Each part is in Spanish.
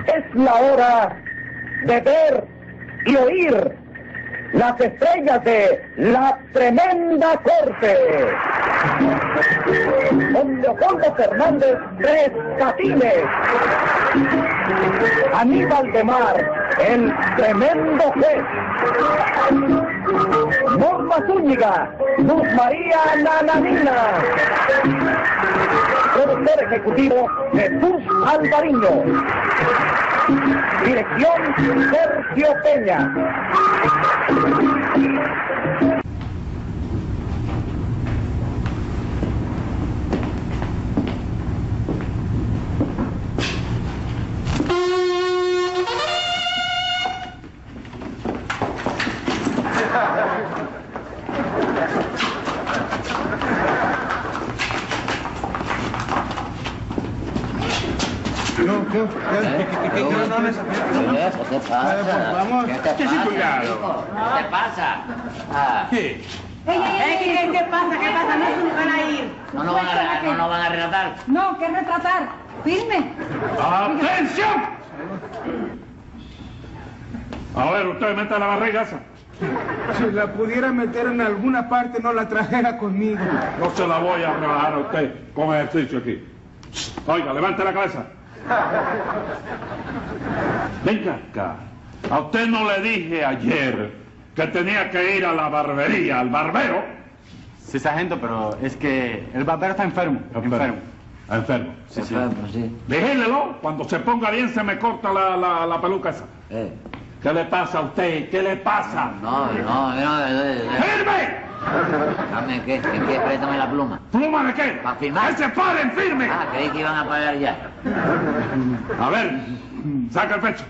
Es la hora de ver y oír las estrellas de la tremenda corte. Don Leopoldo Fernández Tres Catines, Aníbal de Mar, el tremendo juez, Norma Zúñiga, Luz María Nananina, productor ejecutivo Jesús Alvariño, dirección Sergio Peña. ¿Qué pasa? Vamos. ¿Qué te pasa? ¿Qué? ¿Qué pasa? No van a ir. No nos van a retratar. No, ¿qué retratar? Firme. ¡Atención! A ver, usted mete la barriga esa. Si la pudiera meter en alguna parte, no la trajera conmigo. No se la voy a rebajar a usted con ejercicio aquí. Oiga, levante la cabeza. Venga acá. A usted no le dije ayer que tenía que ir a la barbería, al barbero. Sí, sargento, pero es que el barbero está enfermo. Enfermo. Sí, sí. Enfermo, sí. Vigílelo, cuando se ponga bien se me corta la peluca esa. ¿Qué le pasa a usted? ¿Qué le pasa? No. ¡Firme! Dame, ¿qué? Préstame la pluma. ¿Pluma de qué? ¿Para firmar? ¡Que se paren, firme! Ah, creí que iban a pagar ya. A ver, saca el pecho.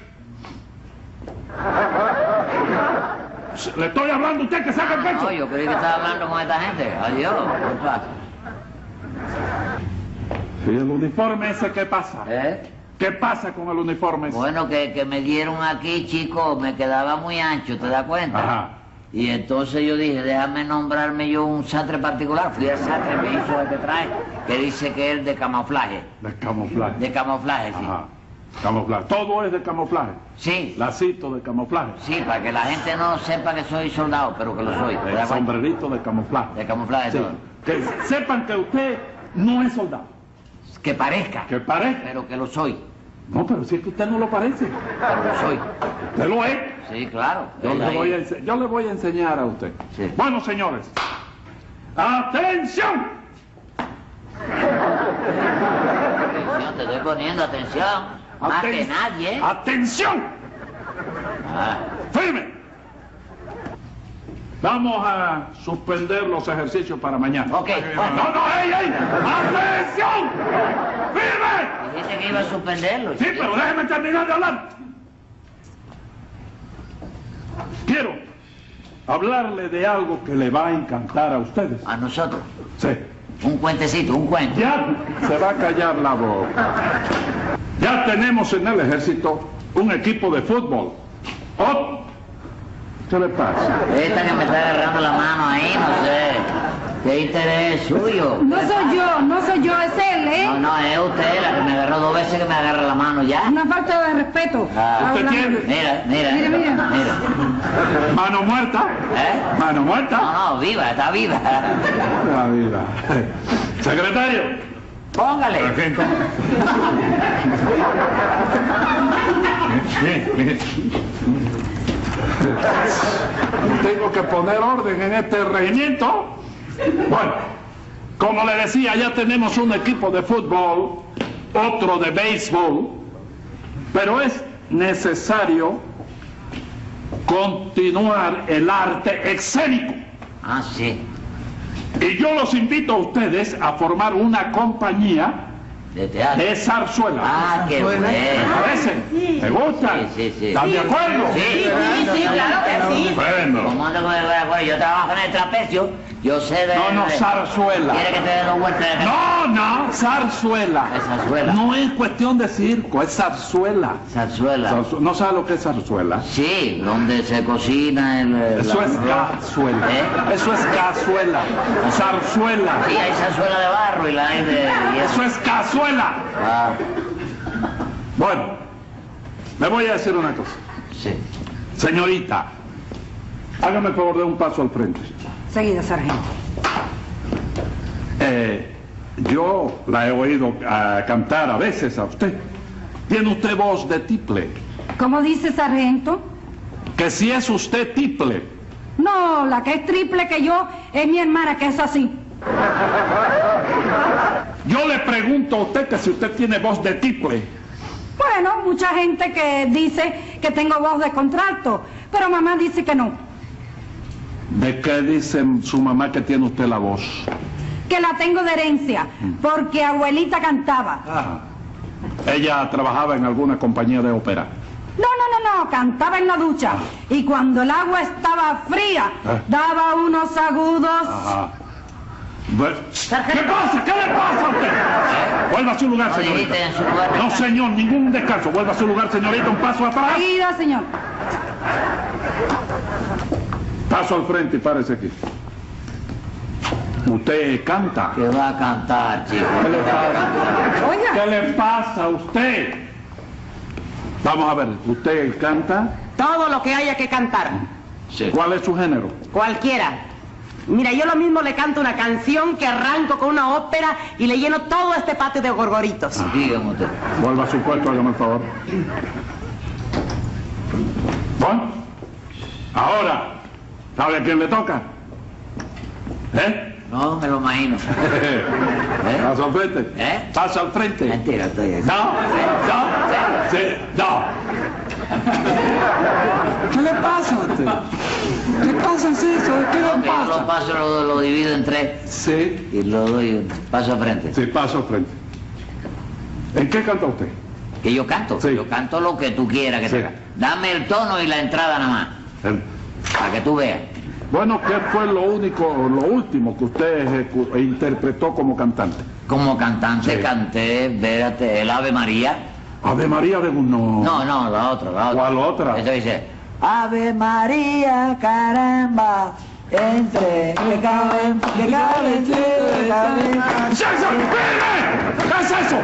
Le estoy hablando a usted que saca el pecho. No, yo creí que estaba hablando con esta gente. Adiós. ¿Qué pasa? ¿Y el uniforme ese qué pasa? ¿Qué pasa con el uniforme ese? Bueno, que me dieron aquí, chico, me quedaba muy ancho, ¿te das cuenta? Ajá. Y entonces yo dije, déjame nombrarme yo un sastre particular. Fui al sastre, me hizo el que trae, que dice que es de camuflaje. De camuflaje. De camuflaje, sí. Ajá. Camuflaje. Todo es de camuflaje. Sí. Lacito de camuflaje. Sí, para que la gente no sepa que soy soldado, pero que lo soy. ¿te El das cuenta? sombrerito de camuflaje. De camuflaje Sí. todo. Que sepan que usted no es soldado. Que parezca. Que parezca. Pero que lo soy. No, pero si es que usted no lo parece. Pero lo soy. ¿Usted lo es? Sí, claro. Yo le voy a enseñar a usted. Sí. Bueno, señores. ¡Atención! Atención, te estoy poniendo atención. Más que nadie. ¡Atención! Ah. ¡Firme! Vamos a suspender los ejercicios para mañana. Ok. No, ¡ey! ¡Atención! ¡Firme! Dijiste que iba a suspenderlo. Sí, pero déjeme terminar de hablar. Quiero hablarle de algo que le va a encantar a ustedes. A nosotros. Sí. Un cuentecito, un cuento. Ya se va a callar la boca. Ya tenemos en el ejército un equipo de fútbol. Oh, ¿qué le pasa? Esta que me está agarrando la mano ahí, no sé. ¿Qué interés es suyo? No soy yo, es él, ¿eh? No, es usted la que me agarró 2 veces que me agarra la mano ya. Una falta de respeto. Ah. ¿Usted tiene Mira. mano muerta? ¿Eh? ¿Mano muerta? No, viva, está viva. La vida. Secretario. Póngale. Sargento. Bien. Tengo que poner orden en este regimiento. Bueno, como le decía, ya tenemos un equipo de fútbol, otro de béisbol, pero es necesario continuar el arte escénico. Ah, sí. Y yo los invito a ustedes a formar una compañía De teatro. de zarzuela. Ah, qué bueno. ¿Me parece? ¿Te gustan? Sí. ¿Están de acuerdo? Sí, claro que sí. Bueno. ¿Cómo ando con el acuerdo? Yo trabajo en el trapecio. Yo sé de... No, zarzuela. ¿Quiere que te dé 2 vueltas de No, zarzuela. Es zarzuela. No es cuestión de circo, es zarzuela. Zarzuela. ¿No sabe lo que es zarzuela? Sí, donde se cocina el... Eso es cazuela. ¿Eh? Eso es cazuela. Zarzuela. Sí, hay zarzuela de barro y la hay de... y Eso es cazuela. Ah, Bueno, Le voy a decir una cosa. Sí. Señorita, hágame el favor de un paso al frente. Seguida, sargento. Yo la he oído cantar a veces a usted. Tiene usted voz de tiple. ¿Cómo dice, sargento? Que si es usted tiple. No, la que es triple que yo es mi hermana, que es así. Yo le pregunto a usted que si usted tiene voz de tiple. Bueno, mucha gente que dice que tengo voz de contralto, pero mamá dice que no. ¿De qué dice su mamá que tiene usted la voz? Que la tengo de herencia, porque abuelita cantaba. Ah. Ella trabajaba en alguna compañía de ópera. No, cantaba en la ducha. Y cuando el agua estaba fría, daba unos agudos. Ajá. ¿Qué pasa? ¿Qué le pasa a usted? Vuelva a su lugar, No, señorita. dijiste en su lugar. No, señor, ningún descanso. Vuelva a su lugar, señorita, un paso atrás. Seguida, señor. Paso al frente y párese aquí. Usted canta. ¿Qué va a cantar, chico? ¿Qué le pasa? Oiga, ¿Qué le pasa a usted? Vamos a ver, ¿usted canta? Todo lo que haya que cantar, Sí. ¿Cuál es su género? cualquiera. Mira, yo lo mismo le canto una canción que arranco con una ópera y le lleno todo este patio de gorgoritos. Dígame usted. Vuelva a su puesto, hágame el favor. Bueno, ahora, ¿sabe a quién le toca? ¿Eh? No, me lo imagino. Paso al frente. ¿Eh? Paso al frente. Mentira, estoy aquí. No, sí, no. ¿Qué le pasa a usted? ¿Qué pasa es eso? ¿Qué le Ok, yo pasa? lo paso, lo divido en tres Sí, y lo doy paso al frente. sí, paso al frente. ¿En qué canta usted? Que yo canto. Sí. Yo canto lo que tú quieras que Sí. te haga. Dame el tono y la entrada nada más, para que tú veas. Bueno, ¿qué fue lo último que usted interpretó como cantante? Como cantante Sí. canté, vérate, el Ave María. Ave María de uno. No, la otra. ¿Cuál otra? Eso dice, Ave María, caramba, entre, que cabe, ¿Qué es eso? ¡Espere! ¿Qué es eso?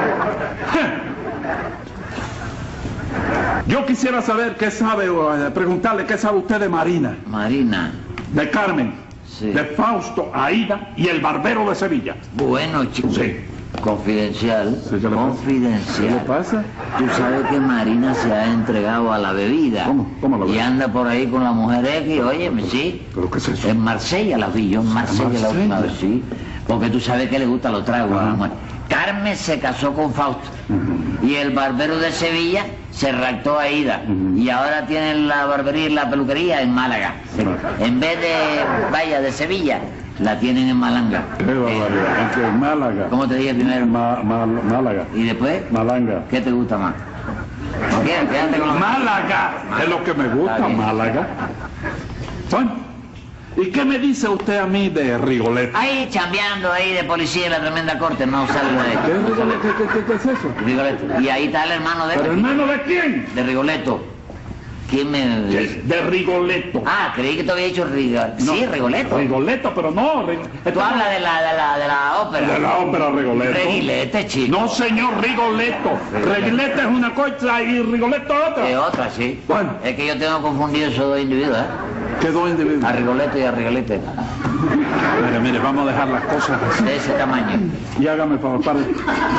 Yo quisiera saber qué sabe, preguntarle qué sabe usted de Marina, Marina. de Carmen, Sí. de Fausto, Aída y el Barbero de Sevilla. Bueno, chico. Sí. Confidencial. Sí, ¿qué le pasa? Confidencial. ¿Qué le pasa? Tú sabes que Marina se ha entregado a la bebida. ¿Cómo? ¿Cómo la Y bebida? anda por ahí con la mujer X, óyeme, sí. ¿Pero qué es eso? En Marsella la vi yo, en Marsella la última Marsella? vez, sí. Porque tú sabes que le gusta los tragos a la Ajá. mujer. Carmen se casó con Fausto. Y el barbero de Sevilla se raptó a Ida. Y ahora tienen la barbería y la peluquería en Málaga. En vez de, de Sevilla, la tienen en Malanga. Qué barbaridad. ¿En qué? Málaga. ¿Cómo te dije primero? Málaga. ¿Y después? Malanga. ¿Qué te gusta más? ¿No quieres? Quédate con los... Málaga. Es lo que me Está gusta, bien. Málaga. Bueno, ¿y qué me dice usted a mí de Rigoletto? Ahí chambeando ahí de policía en la tremenda corte, no salgo de ¿Qué ahí. es Rigoletto? ¿Qué es eso? Rigoletto. Y ahí está el hermano de él. ¿Pero hermano de quién? De Rigoletto. ¿Quién me dice? De Rigoletto. Ah, creí que te había dicho Rigoletto. No, Sí, Rigoletto. Rigoletto, pero no. Tú hablas de la ópera. De la ópera Rigoletto. Reguilete, chico. No, señor, Rigoletto. Reguilete es una cosa y Rigoletto es De otra. otra, sí. Bueno. Es que yo tengo confundido esos dos individuos, ¿eh? ¿Qué dos individuos? A Rigoletto y a Reguilete. Mire, vamos a dejar las cosas así. De ese tamaño. Y hágame el favor, pare.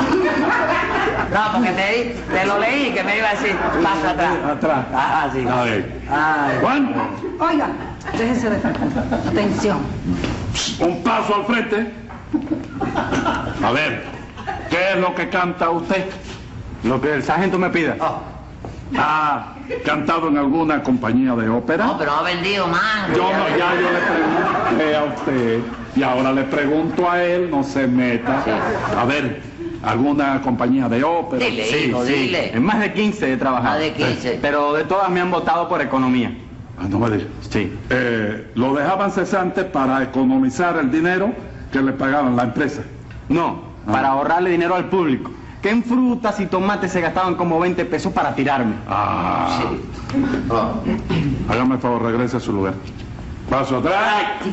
No, porque te lo leí que me iba a decir paso atrás. Atrás. Ah, sí. A ver. Ay. Juan, oiga, déjese de atención. un paso al frente. A ver, ¿qué es lo que canta usted? Lo que el sargento me pida. ¿Ha cantado en alguna compañía de ópera? No, pero ha vendido más. Yo no, ya yo le pregunté a usted y ahora le pregunto a él, no se meta. Sí. A ver, ¿alguna compañía de ópera? Dile, hijo, dile. En más de 15 he trabajado. Más de 15. Pero de todas me han votado por economía. Ah, no me diga. Sí. Lo dejaban cesante para economizar el dinero que le pagaban la empresa. No, para ahorrarle dinero al público. Que en frutas y tomates se gastaban como 20 pesos para tirarme. Ah, Sí. hágame el favor, regrese a su lugar. Paso atrás. ¿De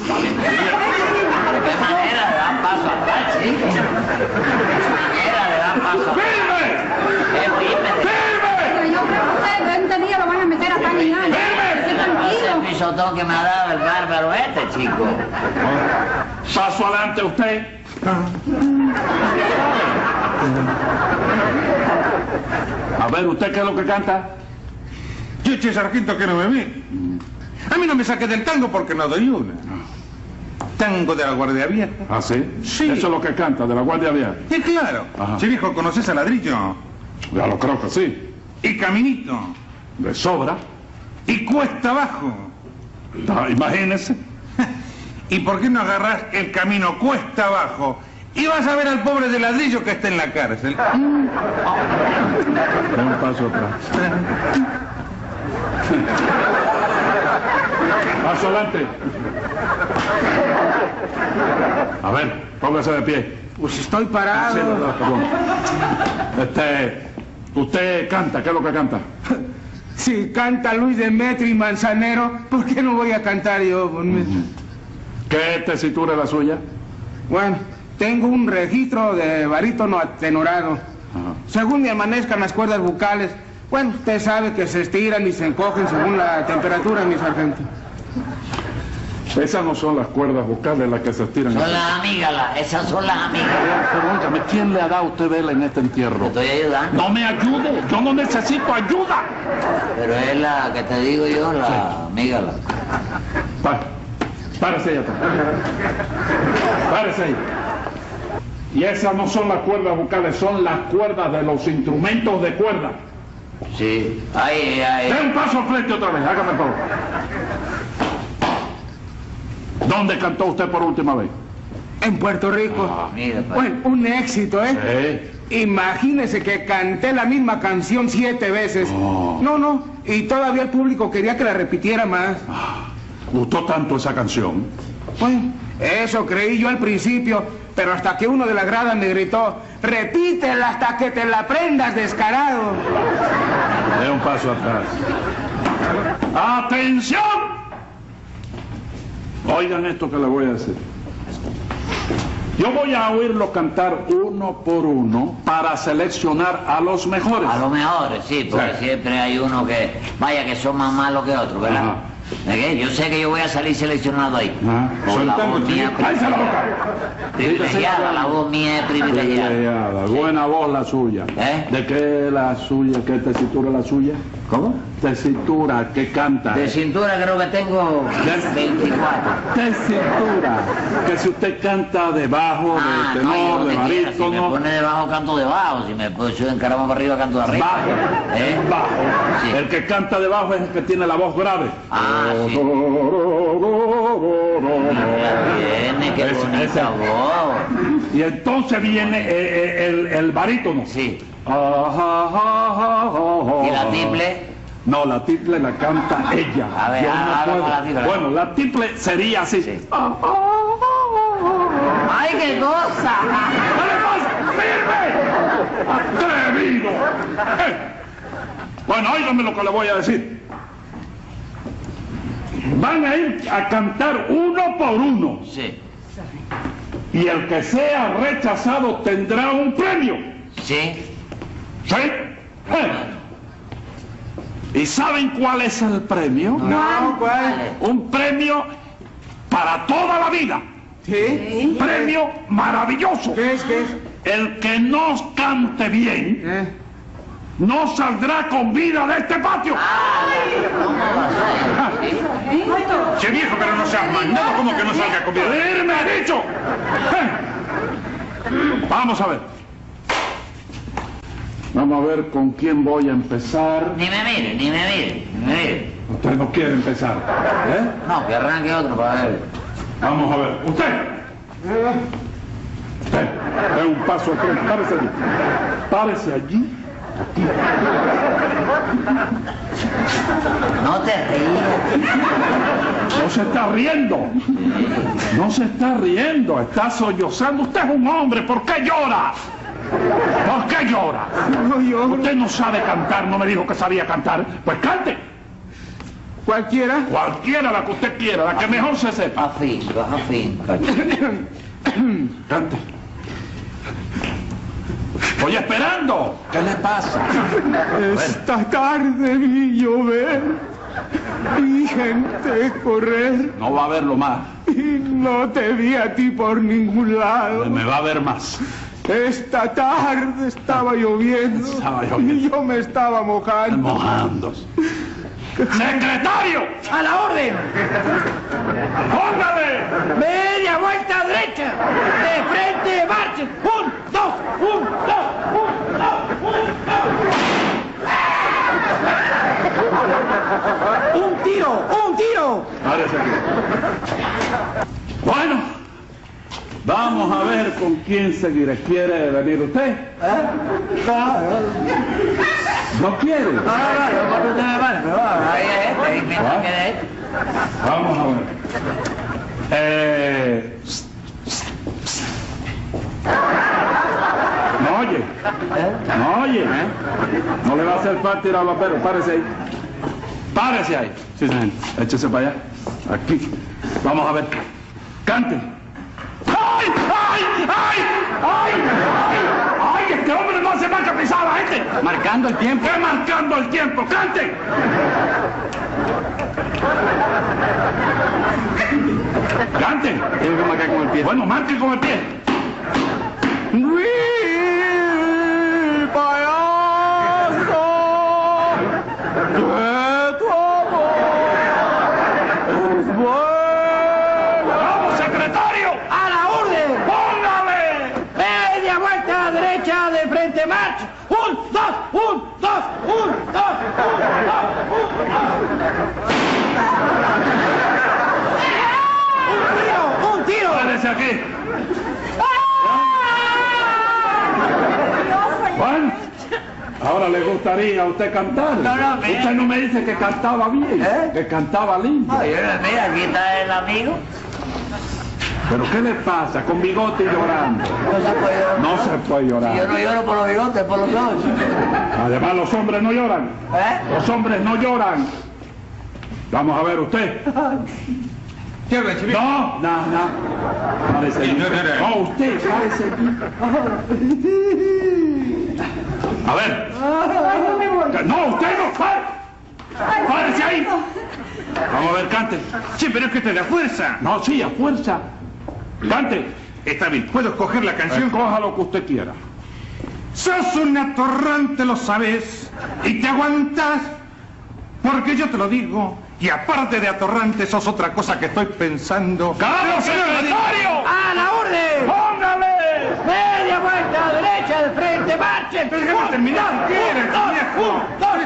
qué manera le dan paso atrás, chico? ¿De qué manera le dan paso atrás? ¡Firme! ¡Qué firme! ¡Firme! Señor, pisotón que me ha dado el bárbaro este, chico. Paso adelante usted. A ver, ¿usted qué es lo que canta? Chiche, sargento, que no me ve. A mí no me saque del tango porque no doy una. Tango de la Guardia Vieja. ¿Ah, sí? Sí. Eso es lo que canta, de la Guardia Vieja. Y claro. Ajá. Sí, viejo, ¿conoces a Ladrillo? Ya lo creo que sí. Y Caminito. De sobra. Y Cuesta Abajo. Imagínese. ¿Y por qué no agarrás el camino Cuesta Abajo? Y vas a ver al pobre de Ladrillo que está en la cárcel. Da un paso atrás. Paso adelante. A ver, póngase de pie. Pues estoy Sí, parado. verdad, perdón. Usted canta, ¿qué es lo que canta? Si canta Luis Demetrio y Manzanero, ¿por qué no voy a cantar yo? ¿Qué tesitura es la suya? Bueno, tengo un registro de barítono atenorado. Ajá. Según me amanezcan las cuerdas bucales, bueno, usted sabe que se estiran y se encogen según la temperatura, mi sargento. Esas no son las cuerdas vocales las que se estiran. Son las amígdalas, esas son las amígdalas. Pregúntame, ¿quién le ha dado a usted vela en este Te entierro? estoy ayudando. No me ayude, yo no necesito ayuda. Pero es la que te digo yo, la amígdala. Párese ahí atrás. Párese ahí. Y esas no son las cuerdas vocales, son las cuerdas de los instrumentos de cuerda. Sí, ahí. Den un paso al frente otra vez, hágame el favor. ¿Dónde cantó usted por última vez? En Puerto Rico. Mira, pa. Bueno, un éxito, ¿eh? Imagínese que canté la misma canción 7 veces. Oh. No, y todavía el público quería que la repitiera más. ¿Gustó tanto esa canción? Bueno, eso creí yo al principio, pero hasta que uno de la grada me gritó, repítela hasta que te la aprendas, descarado. De un paso atrás. ¡Atención! Oigan esto que les voy a decir. Yo voy a oírlo cantar uno por uno para seleccionar a los mejores. A lo mejor, sí, porque Sí. siempre hay uno que, vaya, que son más malos que otros, ¿verdad? Ajá. ¿De qué? Yo sé que yo voy a salir seleccionado ahí. Ajá. Por la Soltando, voz mía ¡Cállese la boca! privilegiada, la voz mía es privilegiada. Privilegiada. Buena voz la suya. ¿Eh? ¿De qué la suya? ¿Qué tesitura la suya? ¿Cómo? Tesitura, ¿qué canta? De cintura creo que tengo 24. Tesitura. Que si usted canta de bajo, de tenor, yo lo de que quiera. Si me barítono. pone debajo, canto debajo. Si me subo en caramba para arriba, canto de arriba. Bajo. ¿Eh? Bajo. Sí. El que canta de bajo es el que tiene la voz grave. Ah, sí. Viene, qué Ese- bonita ese. voz. Y entonces viene el barítono. Sí. ¿Y ¿Y la tiple? No, la tiple la canta ella. A ver, Yo no habla puedo. con la tiple. Bueno, la tiple sería así. Sí. ¿Qué ¡Ay, qué cosa! le pasa? ¡Firme! ¡Atrevido! Bueno, óigame lo que le voy a decir. Van a ir a cantar uno por uno. Sí. Y el que sea rechazado tendrá un premio. Sí. ¿Sí? ¿Y saben cuál es el premio? No, ¿cuál? Un premio para toda la vida. ¿Sí? Un premio maravilloso. ¿Qué es? El que no cante bien no saldrá con vida de este patio. ¿Cómo va a ser? Sí. Che viejo, pero no seas mandado, ¿cómo que no salga con vida? ¡Irme, he dicho! Vamos a ver. Vamos a ver con quién voy a empezar. Ni me mire, ni me mire, ni me mire. Usted no quiere empezar, ¿eh? No, que arranque otro para ver. Vamos a ver. Usted, dé un paso al frente. Párese allí. Párese allí. No te rías. No se está riendo. No se está riendo. Está sollozando. Usted es un hombre. ¿Por qué llora? ¿Por qué llora? No, yo... Usted no sabe cantar. No me dijo que sabía cantar. Pues cante. ¿Cualquiera? Cualquiera, la que usted quiera. La que mejor se sepa. Afinca. Cante. Estoy esperando. ¿Qué le pasa? Esta tarde vi llover Vi gente correr No va a haberlo más. y no te vi a ti por ningún lado. Me va a ver más. Esta tarde estaba lloviendo, y yo me estaba mojando. Mojándose. ¡Secretario! ¡A la orden! ¡Póngale! ¡Media vuelta derecha! ¡De frente, marchen! ¡Un, dos! ¡Un, dos! ¡Un, dos! ¡Un, dos! ¡Un tiro! ¡Un tiro! Párese aquí. Bueno, vamos a ver con quién seguiré. ¿Quiere venir usted? ¿No quiere? Vamos a ver. ¿No oye? ¿No oye? No le va a hacer falta ir al barbero. Párese ahí. Párese ahí. Sí, señor. Échese para allá. Aquí. Vamos a ver. Cante. ¡Ay! ¡Ay! ¡Ay! ¡Ay! ¡Ay! ¡Ay! Este hombre no hace más que pisar a la gente. Marcando el tiempo. ¿Qué marcando el tiempo? ¡Cante! ¡Cante! Tiene que marcar con el pie. Bueno, marque con el pie. ¡Vamos, secretario! ¡A la orden! ¡Póngale! ¡Media vuelta derecha de frente, marcha! ¡Un, dos! ¡Un, dos! ¡Un, dos! ¡Un, dos! ¡Un tiro! ¡Párese aquí! Bueno, ahora le gustaría a usted cantar. No, mira. Usted no me dice que cantaba bien, que cantaba lindo. Ay, mira, aquí está el amigo. ¿Pero qué le pasa con bigote y llorando? No se puede llorar. No se puede llorar. Yo no lloro por los bigotes, por los ojos. Además, los hombres no lloran. Los hombres no lloran. Vamos a ver, usted. No. Párese aquí. No, usted, párese aquí. A ver. No, usted no. Párese ahí. Vamos a ver, cante. Sí, pero es que te da fuerza. No, sí, a fuerza. Cante. Está bien, ¿puedo escoger la canción? Coja lo que usted quiera. Sos un atorrante, lo sabes, y te aguantas, porque yo te lo digo, y aparte de atorrante sos otra cosa que estoy pensando. ¡Vamos, secretario! ¡A la orden! ¡Póngale! ¡Media vuelta derecha de frente, marchen! Pero déjame terminar, ¿quieres, viejo? ¡Un, dos!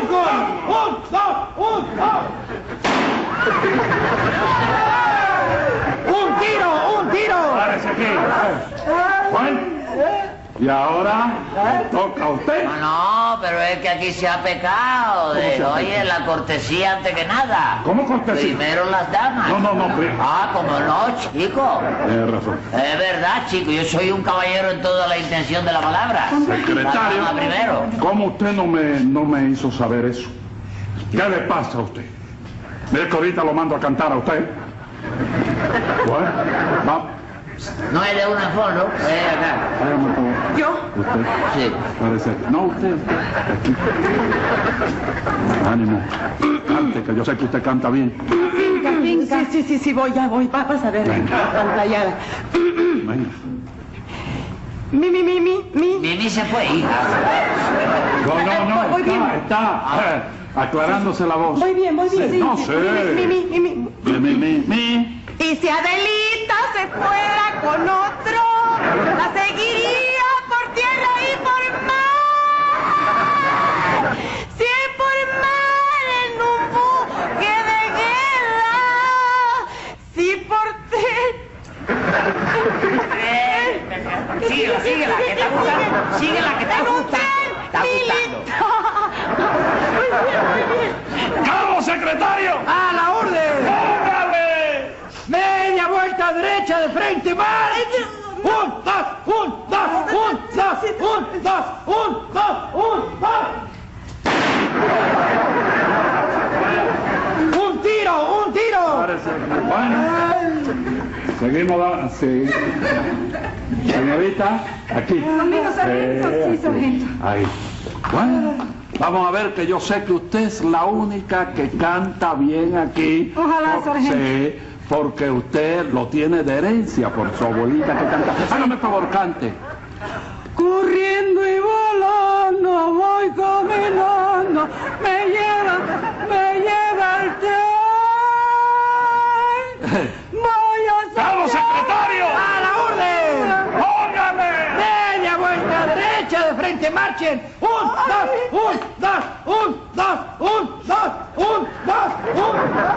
¡Un tiro! ¡Un tiro! Párese aquí. Bueno, y ahora le toca a usted. No, pero es que aquí se ha pecado. Oye, la cortesía antes que nada. ¿Cómo cortesía? Primero las damas. No. Ah, como no, chico. Tiene razón. Es verdad, chico, yo soy un caballero en toda la intención de la palabra. Secretario, La dama primero. ¿cómo usted no me hizo saber eso? ¿Qué le pasa a usted? Mire que ahorita lo mando a cantar a usted. Bueno, vamos. No es de una fondo, es acá. Hágame todo. ¿Yo? Usted. Sí. Parece. No, usted. Aquí. Ánimo. Cante, que yo sé que usted canta bien. Sí, voy, ya voy. Vas a ver. Pantallada. Venga. Mi. Mimi se fue, hija. No. Voy bien. Está. Aclarándose la voz. Voy bien. Sí, no sé. Mi. Y si Adelita se fuera con otro, la seguiría por tierra y por mar. Si es por mar en un buque de guerra, si por Síguela, que está gustando. Síguela, que está gustando. Está gustando. ¡Vamos, secretario! ¡A la orden! ¡Póngale! ¡Media vuelta derecha de frente, marchen! ¡Un, dos! ¡Un tiro! Párese. Bueno. Seguimos sí. Señorita, aquí. Conmigo, sargento. Sí, sargento. Ahí. Bueno, Vamos a ver, que yo sé que usted es la única que canta bien aquí. Ojalá, sargento. Sí, porque usted lo tiene de herencia por su abuelita que canta. Hágame el favor, cante. Corriendo y volando, voy caminando, me lleva el tren. Voy a ¡Vamos, secretario! ¡A la orden! ¡Póngame! Media vuelta derecha, de frente, marchen. 1, 2, 1, 2, 1, 2, 1, 2, 1,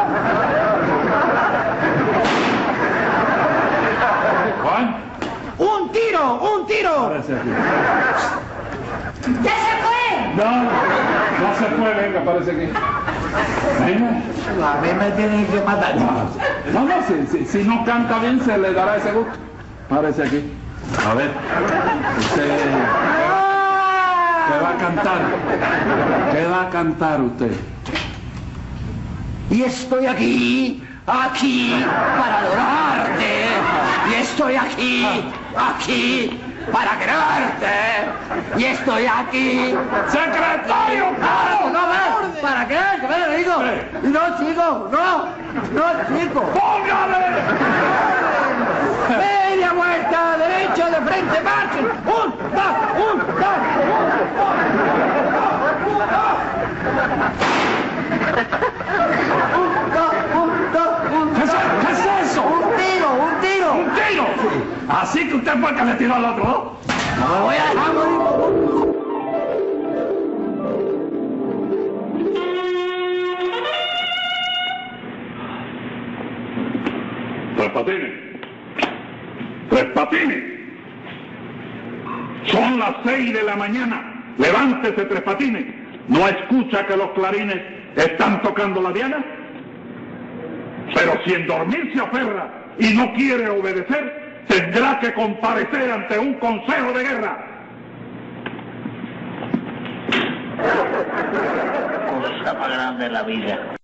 2. Juan, ¡Un tiro! aparece aquí. ¡Ya se fue! No se fue, venga, aparece aquí. Venga. A mí me tienen que matar. No, si no canta bien se le dará ese gusto. Aparece aquí. A ver, usted... ¿Qué va a cantar? ¿Qué va a cantar usted? Y estoy aquí para adorarte. Y estoy aquí para quererte. Y estoy aquí. ¡Secretario! No, ¿para qué? ¿Qué me digo? No, chico, no, chico. ¡Póngale! Media vuelta derecha, de frente, marchen. 1, 2, 1, 2, 1. ¿Qué es eso? Un tiro. ¡Un tiro! Así que usted fue el que le tiró al otro, ¿no? No me voy a dejar morir. Tres Patines. Son las 6 de la mañana. Levántese, Tres Patines. ¿No escucha que los clarines están tocando la diana? Pero si en dormir se aferra y no quiere obedecer, tendrá que comparecer ante un consejo de guerra. Cosa más grande de la vida.